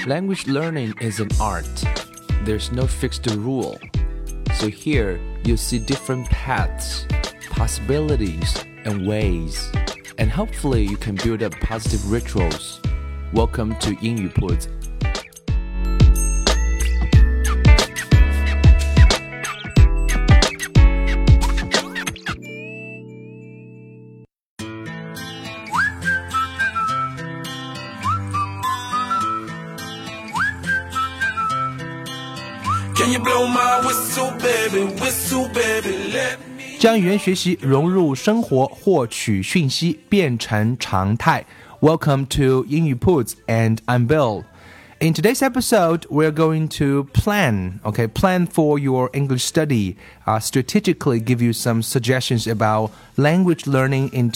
Language learning is an art. There's no fixed rule. So here you'll see different paths, possibilities, and ways. And hopefully you can build up positive rituals. Welcome to 英语铺子。将语言学习融入生活，获取讯息变成常态。Welcome to 英语铺子 and I'm Bill. In today's episode, we're going to plan for your English study, strategically give you some suggestions about language learning in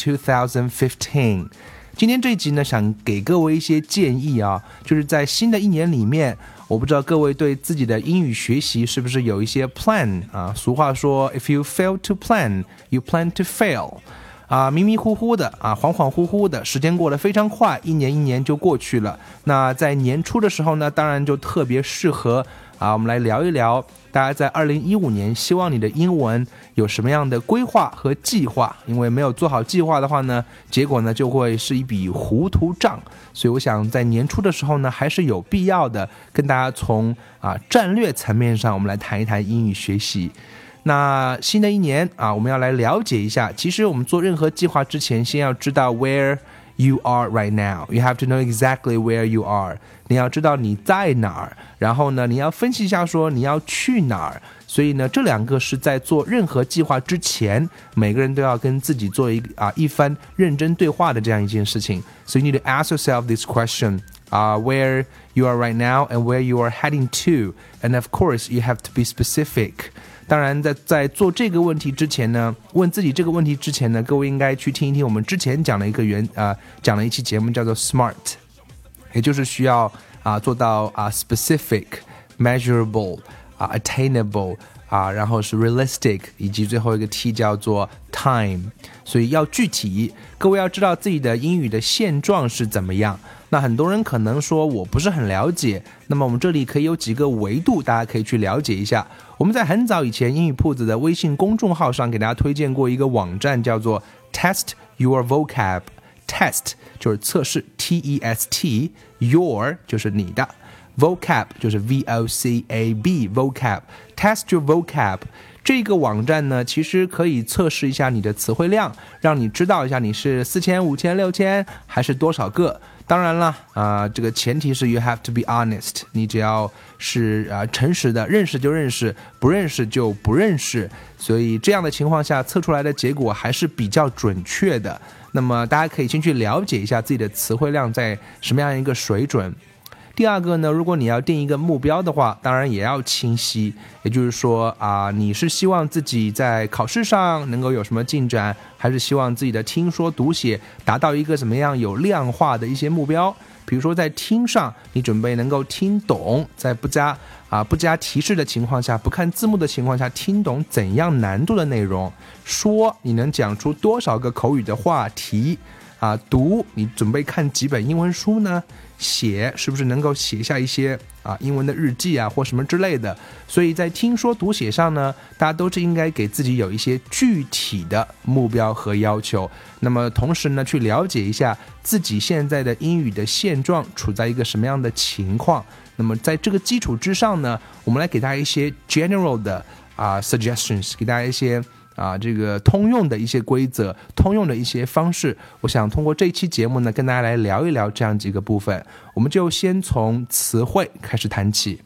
2015. 今天这一集呢，想给各位一些建议啊，就是在新的一年里面，我不知道各位对自己的英语学习是不是有一些 plan 啊？俗话说 ，if you fail to plan, you plan to fail。迷迷糊糊的恍恍惚惚的，时间过得非常快，一年就过去了。那在年初的时候呢，当然就特别适合我们来聊一聊，大家在2015年希望你的英文有什么样的规划和计划？因为没有做好计划的话呢，结果呢就会是一笔糊涂账。所以我想在年初的时候呢，还是有必要的跟大家从战略层面上，我们来谈一谈英语学习。那新的一年我们要来了解一下，其实我们做任何计划之前，先要知道 where you are right now. You have to know exactly where you are. 你要知道你在哪儿，然后呢，你要分析一下说你要去哪儿。所以呢，这两个是在做任何计划之前，每个人都要跟自己做一番认真对话的这样一件事情。So you need to ask yourself this question, where you are right now and where you are heading to. And of course, you have to be specific.当然在做这个问题之前呢，问自己这个问题之前呢，各位应该去听一听我们之前讲了讲了一期节目叫做 SMART， 也就是需要做到specific, measurable, attainable 然后是 realistic， 以及最后一个 T 叫做 time。 所以要具体，各位要知道自己的英语的现状是怎么样。那很多人可能说我不是很了解，那么我们这里可以有几个维度，大家可以去了解一下。我们在很早以前英语铺子的微信公众号上给大家推荐过一个网站，叫做 Test Your Vocab。 Test 就是测试 T-E-S-T， Your 就是你的， Vocab 就是 V-O-C-A-B Vocab。 Test Your Vocab这个网站呢，其实可以测试一下你的词汇量，让你知道一下你是4000、5000、6000还是多少个。当然了这个前提是 you have to be honest， 你只要是诚实的，认识就认识，不认识就不认识。所以这样的情况下测出来的结果还是比较准确的。那么大家可以先去了解一下自己的词汇量在什么样一个水准。第二个呢，如果你要定一个目标的话，当然也要清晰，也就是说你是希望自己在考试上能够有什么进展，还是希望自己的听说读写达到一个怎么样有量化的一些目标。比如说在听上，你准备能够听懂，在不加提示的情况下，不看字幕的情况下，听懂怎样难度的内容。说你能讲出多少个口语的话题读你准备看几本英文书呢？写是不是能够写下一些英文的日记或什么之类的。所以在听说读写上呢，大家都是应该给自己有一些具体的目标和要求。那么同时呢，去了解一下自己现在的英语的现状处在一个什么样的情况。那么在这个基础之上呢，我们来给大家一些 general 的suggestions， 给大家一些这个通用的一些规则，通用的一些方式。我想通过这一期节目呢，跟大家来聊一聊这样几个部分。我们就先从词汇开始谈起。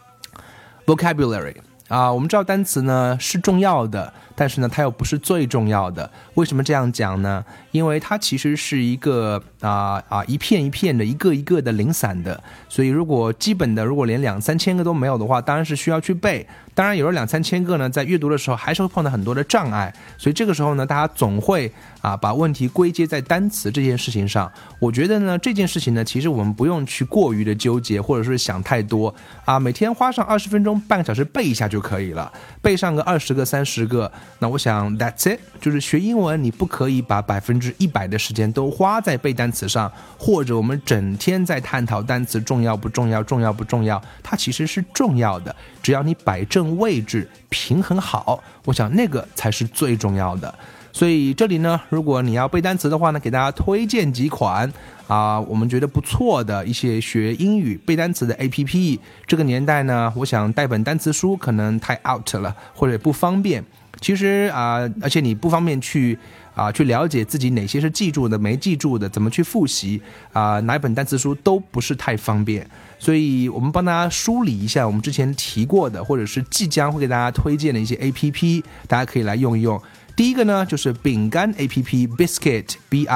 Vocabulary我们知道单词呢是重要的，但是呢它又不是最重要的。为什么这样讲呢？因为它其实是一个一片一片的，一个一个的零散的。所以如果基本的如果连2-3千个都没有的话，当然是需要去背。 当然有了2-3千个呢，在阅读的时候还是会碰到很多的障碍，所以这个时候呢，大家总会把问题归结在单词这件事情上。我觉得呢，这件事情呢，其实我们不用去过于的纠结，或者是想太多每天花上20分钟、半个小时背一下就可以了，背上个20个、30个，那我想 that's it。就是学英文，你不可以把100%的时间都花在背单词上，或者我们整天在探讨单词重要不重要，重要不重要，它其实是重要的，只要你摆正位置，平衡好，我想那个才是最重要的。所以这里呢，如果你要背单词的话呢，给大家推荐几款我们觉得不错的一些学英语背单词的 APP。 这个年代呢，我想带本单词书可能太 out 了，或者不方便。其实而且你不方便去了解自己哪些是记住的没记住的，怎么去复习哪一本单词书都不是太方便。所以我们帮大家梳理一下我们之前提过的，或者是即将会给大家推荐的一些 APP， 大家可以来用一用。第一个呢，就是饼干 APP Biscuit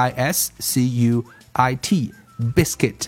BISCUIT Biscuit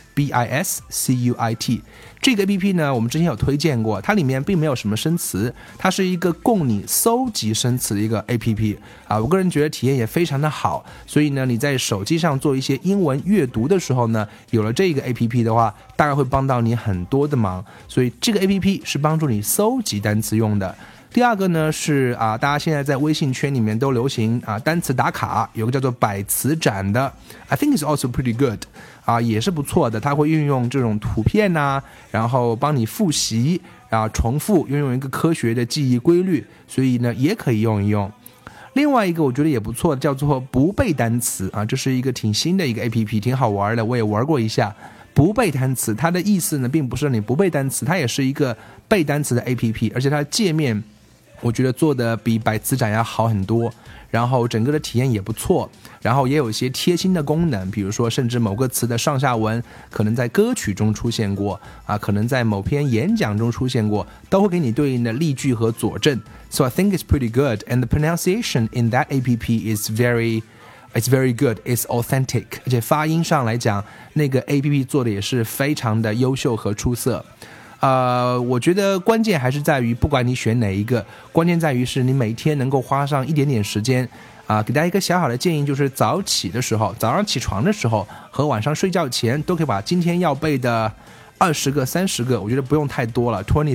BISCUIT 这个 APP 呢，我们之前有推荐过，它里面并没有什么生词，它是一个供你搜集生词的一个 APP 我个人觉得体验也非常的好。所以呢，你在手机上做一些英文阅读的时候呢，有了这个 APP 的话，大概会帮到你很多的忙。所以这个 APP 是帮助你搜集单词用的。第二个呢是大家现在在微信圈里面都流行单词打卡，有个叫做百词斩的 I think it's also pretty good 也是不错的。它会运用这种图片然后帮你复习重复，运用一个科学的记忆规律，所以呢也可以用一用。另外一个我觉得也不错，叫做不背单词这是一个挺新的一个 APP， 挺好玩的，我也玩过一下。不背单词它的意思呢，并不是让你不背单词，它也是一个背单词的 APP， 而且它的界面我觉得做的比百词斩要好很多，然后整个的体验也不错，然后也有一些贴心的功能，比如说甚至某个词的上下文可能在歌曲中出现过可能在某篇演讲中出现过，都会给你对应的例句和佐证。 So I think it's pretty good, and the pronunciation in that APP is It's very good, it's authentic， 而且发音上来讲，那个 APP 做的也是非常的优秀和出色。我觉得关键还是在于，不管你选哪一个，关键在于是你每天能够花上一点点时间给大家一个小小的建议，就是早起的时候，早上起床的时候和晚上睡觉前，都可以把今天要背的20个、30个，我觉得不用太多了，20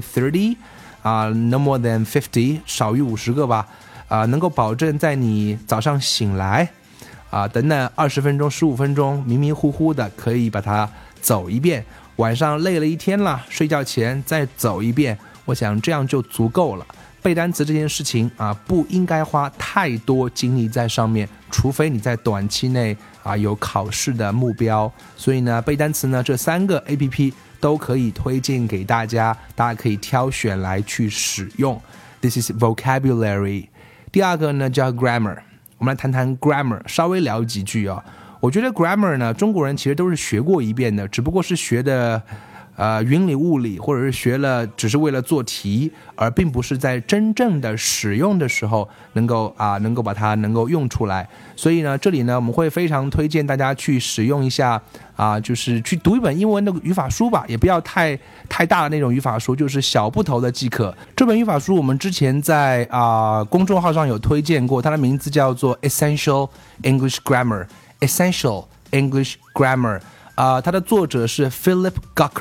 30no more than 50， 少于50个吧能够保证在你早上醒来等等20分钟、15分钟迷迷糊糊的可以把它走一遍，晚上累了一天了，睡觉前再走一遍，我想这样就足够了。背单词这件事情不应该花太多精力在上面，除非你在短期内有考试的目标。所以呢，背单词呢这3个 APP 都可以推荐给大家，大家可以挑选来去使用。 This is vocabulary。 第二个呢叫 grammar， 我们来谈谈 grammar， 稍微聊几句我觉得 grammar 呢，中国人其实都是学过一遍的，只不过是学的云里雾里，或者是学了只是为了做题，而并不是在真正的使用的时候能够把它能够用出来。所以呢，这里呢我们会非常推荐大家去使用一下就是去读一本英文的语法书吧，也不要太大的那种语法书，就是小部头的即可。这本语法书我们之前在公众号上有推荐过，它的名字叫做 Essential English Grammar Essential English Grammar它的作者是 Philip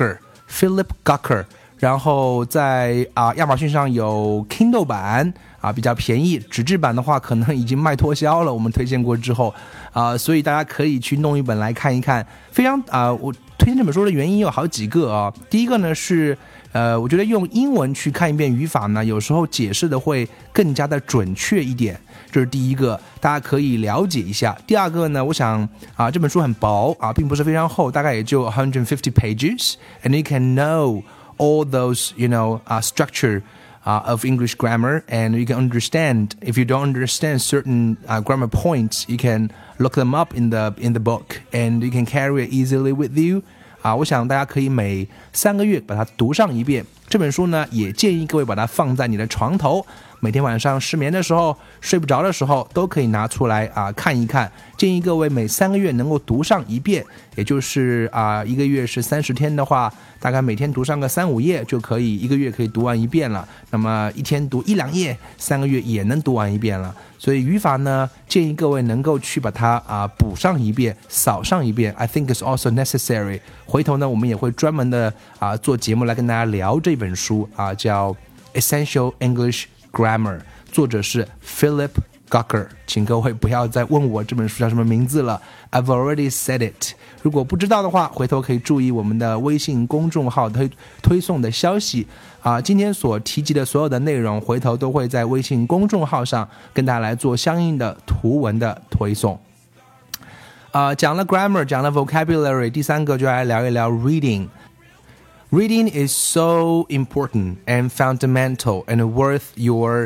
Gucker， 然后在亚马逊上有 Kindle 版比较便宜，纸质版的话可能已经卖脱销了，我们推荐过之后所以大家可以去弄一本来看一看。非常我推荐这本书的原因有好几个第一个呢是我觉得用英文去看一遍语法呢，有时候解释的会更加的准确一点，这是第一个，大家可以了解一下。第二个呢，我想这本书很薄并不是非常厚，大概也就150 pages, and you can know all those structure of English grammar, and you can understand. If you don't understand certain grammar points, you can look them up in the book, and you can carry it easily with you. 我想大家可以每3个月把它读上一遍。这本书呢，也建议各位把它放在你的床头， 每天晚上失眠的时候、睡不着的时候，都可以拿出来看一看。建议各位每3个月能够读上一遍，也就是1个月是30天的话，大概每天读上个3-5页就可以，1个月可以读完一遍了。那么一天读1-2页，3个月也能读完一遍了。所以语法呢，建议各位能够去把它补上一遍、扫上一遍。I think it's also necessary。回头呢，我们也会专门的做节目来跟大家聊这本书叫 Essential English Grammar， 作者是 Philip Gawker， 请各位不要再问我这本书叫什么名字了 ，I've already said it。如果不知道的话，回头可以注意我们的微信公众号推送的消息今天所提及的所有的内容，回头都会在微信公众号上跟大家来做相应的图文的推送。讲了 grammar， 讲了 vocabulary， 第3个就来聊一聊 reading。Reading is so important and fundamental and worth your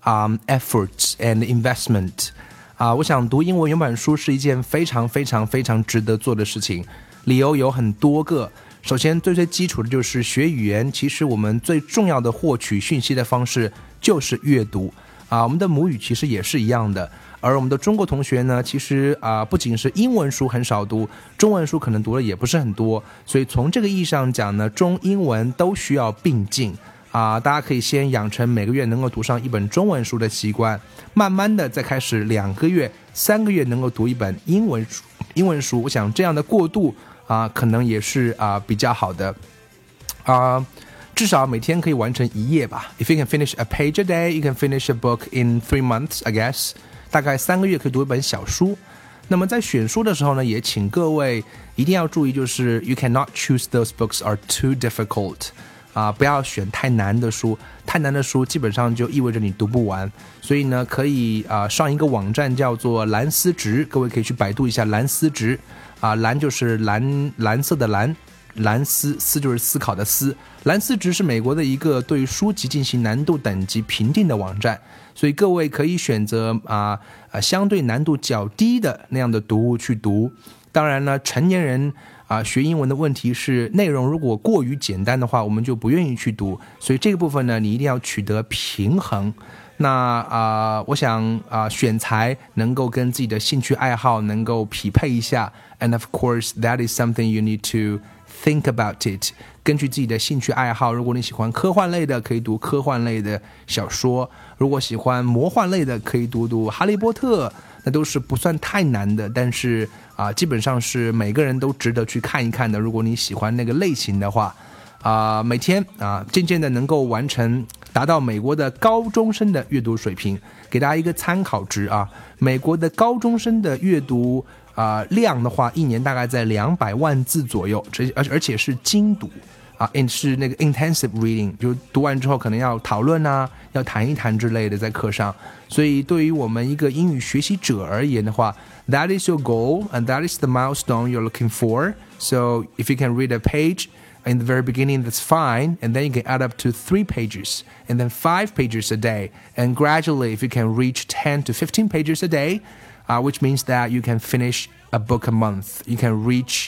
efforts and investment。我想读英文原版书是一件非常非常非常值得做的事情，理由有很多个。首先最基础的就是学语言，其实我们最重要的获取讯息的方式就是阅读我们的母语其实也是一样的。而我们的中国同学呢，其实不仅是英文书很少读，中文书可能读的也不是很多，所以从这个意义上讲呢，中英文都需要并进大家可以先养成每个月能够读上一本中文书的习惯，慢慢的再开始2个月、3个月能够读一本英文书。我想这样的过渡可能也是比较好的至少每天可以完成1页吧。If you can finish a page a day, you can finish a book in 3 months, I guess。大概3个月可以读一本小书。那么在选书的时候呢，也请各位一定要注意，就是 you cannot choose those books are too difficult。不要选太难的书，太难的书基本上就意味着你读不完。所以呢，可以上一个网站叫做蓝思直，各位可以去百度一下蓝思直蓝就是蓝色的蓝，蓝思就是思考的思。蓝思直是美国的一个对书籍进行难度等级评定的网站，所以各位可以选择相对难度较低的那样的读物去读。当然呢，成年人学英文的问题是内容如果过于简单的话，我们就不愿意去读，所以这个部分呢，你一定要取得平衡。那我想选材能够跟自己的兴趣爱好能够匹配一下 ，and of course that is something you need to think about it。根据自己的兴趣爱好，如果你喜欢科幻类的，可以读科幻类的小说；如果喜欢魔幻类的，可以读哈利波特。那都是不算太难的，但是基本上是每个人都值得去看一看的。如果你喜欢那个类型的话，每天渐渐的能够完成，达到美国的高中生的阅读水平。给大家一个参考值美国的高中生的阅读量的话，一年大概在200万字左右，而且是精读是那个 intensive reading， 就读完之后可能要讨论要谈一谈之类的在课上。所以对于我们一个英语学习者而言的话， that is your goal and that is the milestone you're looking for. So if you can read a page in the very beginning, that's fine, and then you can add up to 3 pages and then 5 pages a day, and gradually if you can reach 10 to 15 pages a day, which means that you can finish a book a month. You can reach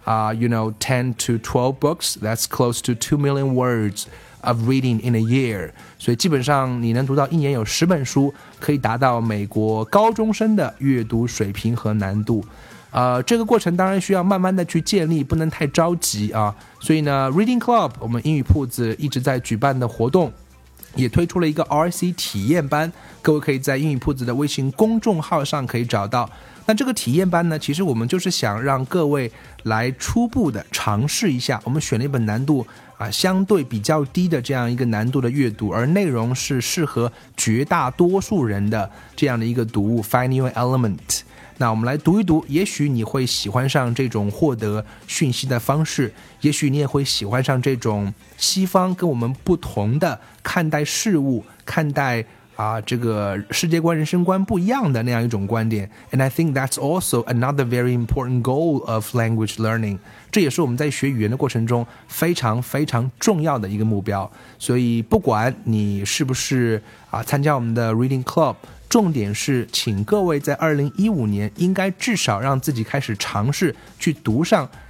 10 to 12 books. That's close to 2 million words of reading in a year. 所以基本上你能读到一年有10本书，可以达到美国高中生的阅读水平和难度。这个过程当然需要慢慢的去建立，不能太着急所以呢 Reading Club 我们英语铺子一直在举办的活动，也推出了一个 RC 体验班，各位可以在英语铺子的微信公众号上可以找到。那这个体验班呢，其实我们就是想让各位来初步的尝试一下，我们选了一本难度相对比较低的这样一个难度的阅读，而内容是适合绝大多数人的这样的一个读物 Find Your Element。那我们来读一读，也许你会喜欢上这种获得讯息的方式，也许你也会喜欢上这种西方跟我们不同的看待事物、看待这个世界观、人生观不一样的那样一种观点。 And I think that's also another very important goal of language learning。 这也是我们在学语言的过程中非常非常重要的一个目标。所以不管你是不是参加我们的 Reading Club，重点是请各位在2015年应该至少让自己开始尝试去读上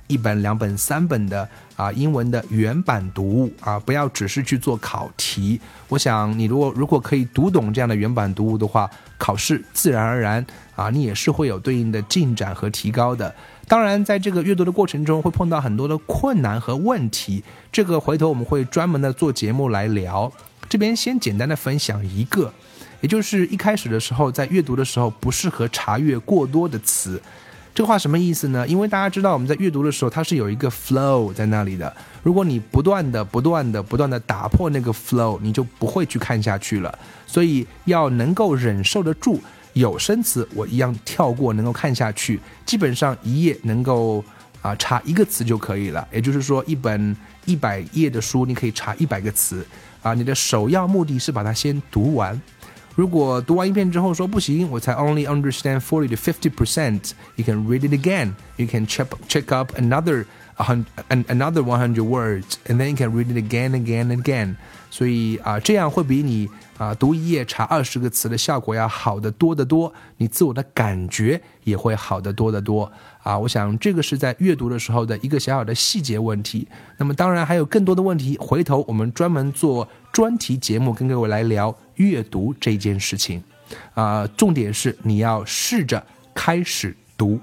1本、2本、3本的英文的原版读物不要只是去做考题。我想你如果可以读懂这样的原版读物的话，考试自然而然你也是会有对应的进展和提高的。当然在这个阅读的过程中会碰到很多的困难和问题，这个回头我们会专门的做节目来聊。这边先简单的分享一个，也就是一开始的时候在阅读的时候不适合查阅过多的词。这个话什么意思呢？因为大家知道我们在阅读的时候它是有一个 flow 在那里的，如果你不断的打破那个 flow， 你就不会去看下去了。所以要能够忍受得住有声词我一样跳过能够看下去，基本上一页能够查1个词就可以了。也就是说一本100页的书你可以查100个词你的首要目的是把它先读完。如果读完一遍之后说不行，我才 only understand 40 to 50%, you can read it again. You can check up another 100 words, and then you can read it again, again, again. 所以这样会比你读一页查20个词的效果要好得多得多，你自我的感觉也会好得多得多我想这个是在阅读的时候的一个小小的细节问题。那么当然还有更多的问题，回头我们专门做专题节目跟各位来聊阅读这件事情重点是你要试着开始读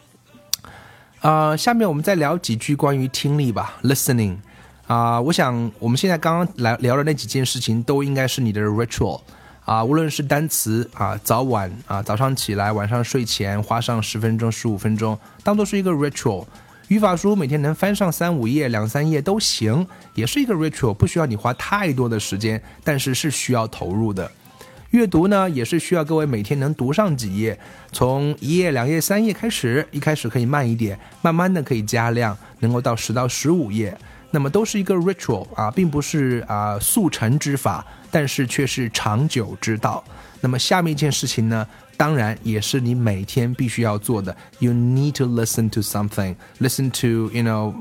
下面我们再聊几句关于听力吧 listening我想我们现在刚刚聊的那几件事情都应该是你的 ritual无论是单词早晚早上起来晚上睡前花上10分钟15分钟当作是一个 ritual。语法书每天能翻上3-5页2-3页都行，也是一个 ritual， 不需要你花太多的时间，但是是需要投入的。阅读呢也是需要各位每天能读上几页，从1页2页3页开始，一开始可以慢一点，慢慢的可以加量，能够到10到15页，那么都是一个 ritual 并不是速成之法，但是却是长久之道。那么下面一件事情呢，当然也是你每天必须要做的 You need to listen to something. Listen to,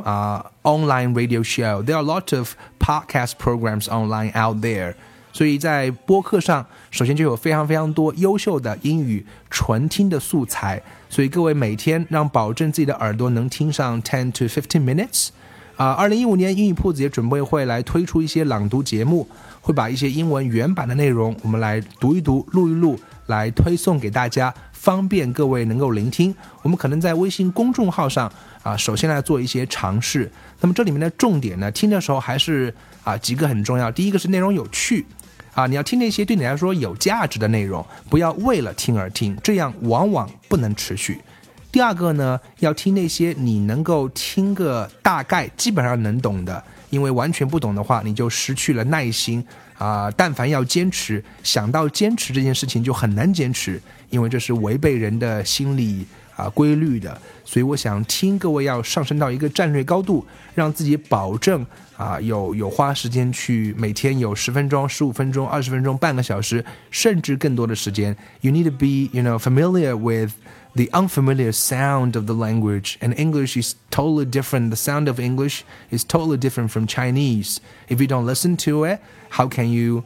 online radio show. There are a lot of podcast programs online out there. 所以在播客上首先就有非常非常多优秀的英语纯听的素材，所以各位每天让保证自己的耳朵能听上10 to 15 minutes。2015年英语铺子也准备会来推出一些朗读节目，会把一些英文原版的内容我们来读一读录一录，来推送给大家，方便各位能够聆听。我们可能在微信公众号上首先来做一些尝试。那么这里面的重点呢，听的时候还是几个很重要。第一个是内容有趣你要听那些对你来说有价值的内容，不要为了听而听，这样往往不能持续。第二个呢，要听那些你能够听个大概基本上能懂的，因为完全不懂的话你就失去了耐心但凡要坚持，想到坚持这件事情就很难坚持，因为这是违背人的心理规律的。所以我想听各位要上升到一个战略高度，让自己保证有花时间去每天有10分钟15分钟20分钟半个小时甚至更多的时间。 You need to be familiar with the unfamiliar sound of the language, and English is totally different. The sound of English is totally different from Chinese. If you don't listen to it, how can you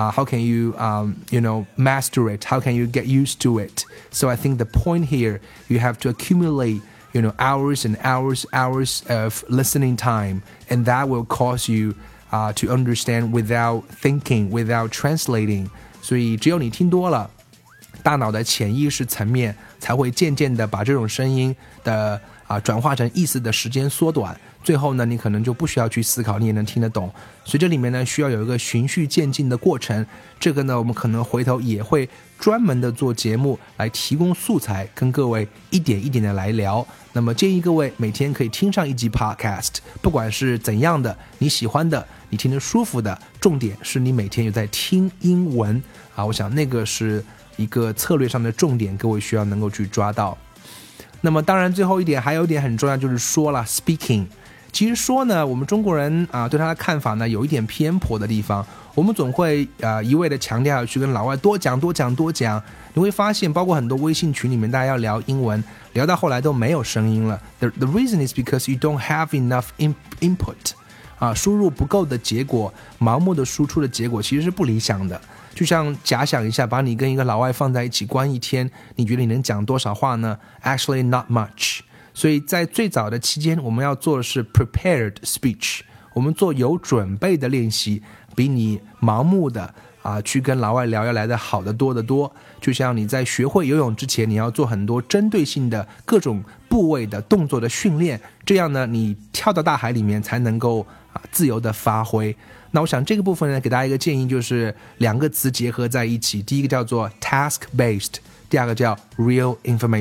master it? How can you get used to it? So I think the point here, you have to accumulate hours and hours of listening time, and that will cause you to understand without thinking, without translating. 所以只有你听多了，大脑的潜意识层面才会渐渐的把这种声音的转化成意思的时间缩短，最后呢你可能就不需要去思考，你也能听得懂。所以这里面呢需要有一个循序渐进的过程，这个呢我们可能回头也会专门的做节目来提供素材，跟各位一点一点的来聊。那么建议各位每天可以听上一集 podcast， 不管是怎样的，你喜欢的，你听得舒服的，重点是你每天有在听英文我想那个是一个策略上的重点，各位需要能够去抓到。那么当然最后一点还有一点很重要，就是说了 speaking。 其实说呢，我们中国人对他的看法呢有一点偏颇的地方，我们总会一味的强调要去跟老外多讲，你会发现包括很多微信群里面大家要聊英文，聊到后来都没有声音了。 The reason is because you don't have enough input，输入不够的结果，盲目的输出的结果其实是不理想的。就像假想一下，把你跟一个老外放在一起关一天，你觉得你能讲多少话呢？ Actually not much。 所以在最早的期间，我们要做的是 prepared speech， 我们做有准备的练习，比你盲目的去跟老外聊要来的好得多得多。就像你在学会游泳之前，你要做很多针对性的各种部位的动作的训练，这样呢，你跳到大海里面才能够自由的发挥。那我想这个部分呢，给大家一个建议，就是两个词结合在一起，第一个叫做 task-based， 第二个叫 real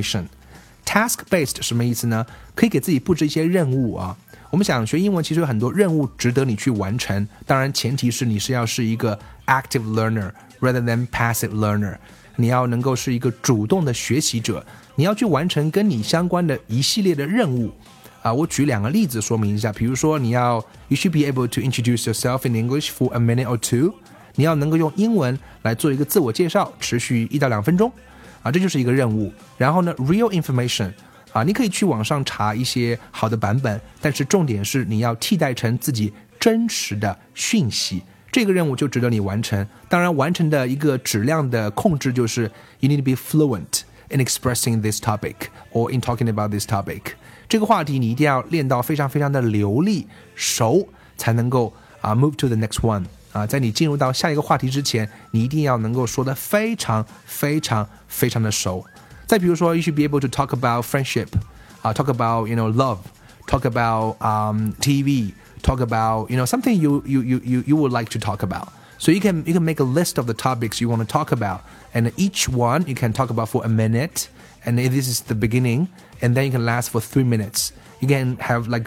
information。task-based 什么意思呢？可以给自己布置一些任务啊。我们想学英文其实有很多任务值得你去完成，当然前提是你要是一个 active learner rather than passive learner， 你要能够是一个主动的学习者，你要去完成跟你相关的一系列的任务。我举两个例子说明一下，比如说you should be able to introduce yourself in English for a minute or two， 你要能够用英文来做一个自我介绍，持续1到2分钟，这就是一个任务。然后呢 real information，你可以去网上查一些好的版本，但是重点是你要替代成自己真实的讯息，这个任务就值得你完成。当然完成的一个质量的控制就是 you need to be fluent in expressing this topic or in talking about this topic， 这个话题你一定要练到非常非常的流利熟，才能够move to the next one。在你进入到下一个话题之前，你一定要能够说得非常非常非常的熟。再比如说 you should be able to talk about friendship, talk about love, talk about TV, talk about something you would like to talk about. So you can make a list of the topics you want to talk about, and each one you can talk about for a minute, and this is the beginning, and then you can last for 3 minutes. You can have like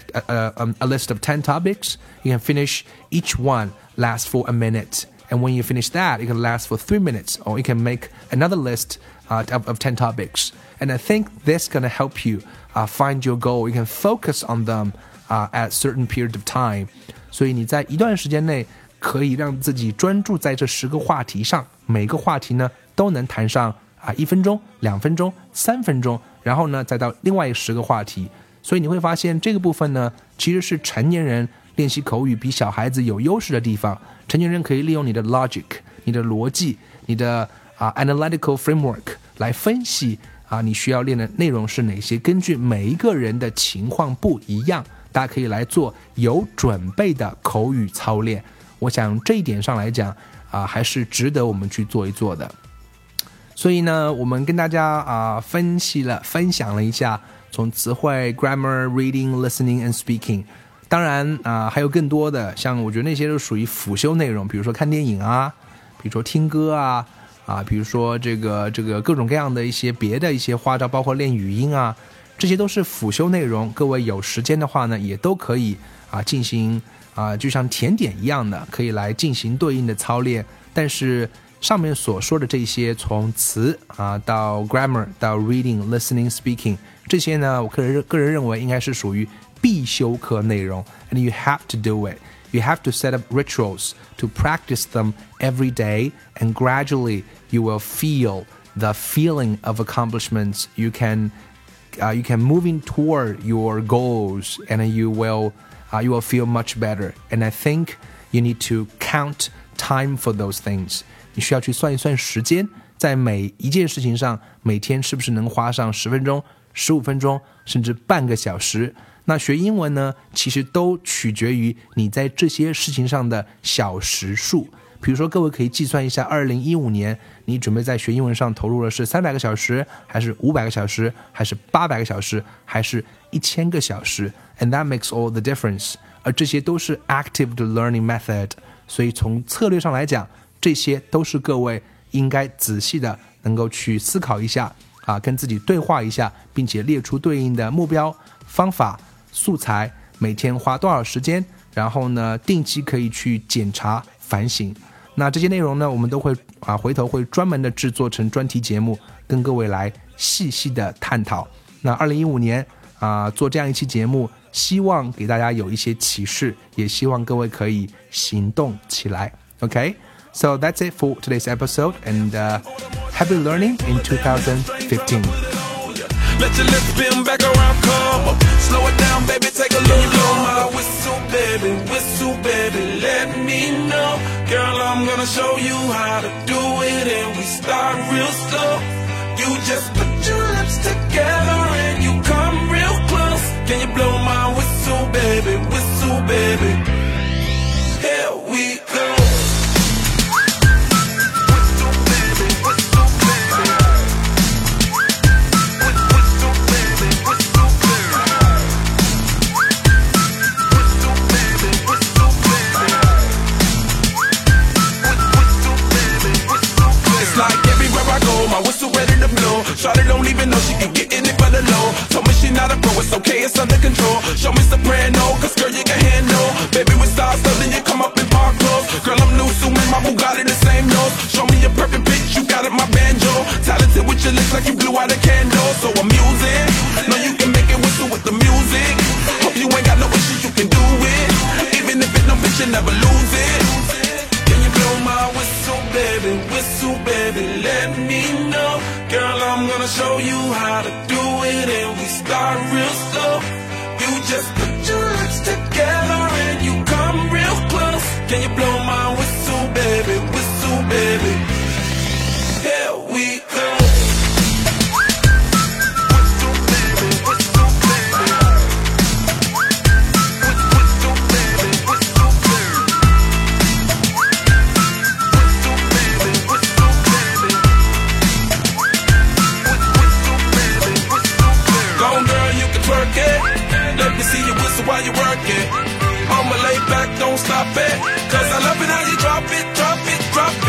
a list of 10 topics. You can finish each one, last for a minute.And when you finish that, it can last for 3 minutes, or you can make another list of 10 topics. And I think this is going to help you find your goal. You can focus on them at certain period of time. 所以你在一段时间内可以让自己专注在这10个话题上，每个话题呢都能谈上1分钟、2分钟、3分钟，然后呢再到另外10个话题。所以你会发现这个部分呢，其实是成年人练习口语比小孩子有优势的地方。成年人可以利用你的 logic， 你的逻辑，你的analytical framework 来分析你需要练的内容是哪些，根据每一个人的情况不一样，大家可以来做有准备的口语操练。我想这一点上来讲还是值得我们去做一做的。所以呢，我们跟大家分享了一下从词汇 grammar reading listening and speaking。当然还有更多的，像我觉得那些都属于辅修内容，比如说看电影比如说听歌比如说这个各种各样的一些别的一些花招，包括练语音这些都是辅修内容。各位有时间的话呢，也都可以进行就像甜点一样的，可以来进行对应的操练。但是上面所说的这些，从词到 grammar 到 reading listening speaking， 这些呢，我个人认为应该是属于必修课内容 and you have to do it. You have to set up rituals to practice them every day, and gradually you will feel the feeling of accomplishments. You can moving toward your goals, and you will feel much better. And I think you need to count time for those things. 你需要去算一算时间，在每一件事情上，每天是不是能花上10分钟、15分钟，甚至半个小时。那学英文呢，其实都取决于你在这些事情上的小时数。比如说各位可以计算一下2015年你准备在学英文上投入的是300个小时，还是500个小时，还是800个小时，还是1000个小时， and that makes all the difference。 而这些都是 active learning method， 所以从策略上来讲，这些都是各位应该仔细的能够去思考一下跟自己对话一下，并且列出对应的目标、方法、素材，每天花多少时间，然后呢定期可以去检查反省。那这些内容呢，我们都会回头会专门的制作成专题节目，跟各位来细细的探讨。那2015年做这样一期节目，希望给大家有一些启示，也希望各位可以行动起来。 OK，So that's it for today's episode, and happy learning in 2015.Let your lips spin back around, come up. Slow it down, baby, take a look. Blow my whistle, baby, let me know. Girl, I'm gonna show you how to do it, and we start real slow. You just put your lips together and you come real close. Shawty don't even know she can get in it for the low. Told me she not a pro, it's okay, it's under control. Show me soprano, cause girl, you can handle. Baby, with stars, so then you come up in park clothes. Girl, I'm new, so my Bugatti the same nose. Show me a perfect pitch, you got it, my banjo. Talented with your lips like you blew out a candle. So I'm using, know you can make it whistle with the music. Hope you ain't got no issues, you can do it. Even if it don't fit, you never lose it. Can you blow my whistle, baby, let me know. Girl, I'm gonna show you how to do it, and we start real slow. You just put your lips together and you come real close. Can you blow my whistle, baby, here we go. Let me see you whistle while you work it. I'ma lay back, don't stop it. Cause I love it how you drop it, drop it, drop it.